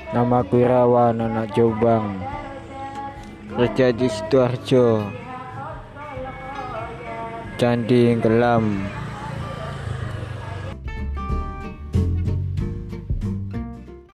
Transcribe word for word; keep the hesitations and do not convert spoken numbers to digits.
Namaku Irawan, anak Jombang, kerja di Sidoarjo, Candi Gelam.